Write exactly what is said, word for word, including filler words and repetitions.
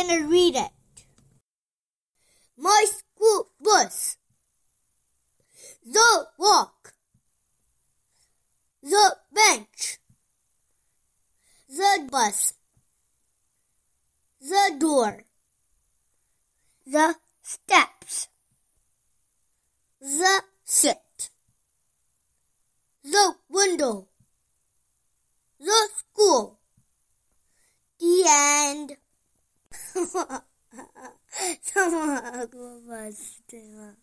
gonna read it. My school bus. The walk. The bench. The bus. The door. The steps. The sit. The window. The school. The end. 这么个故事对吗？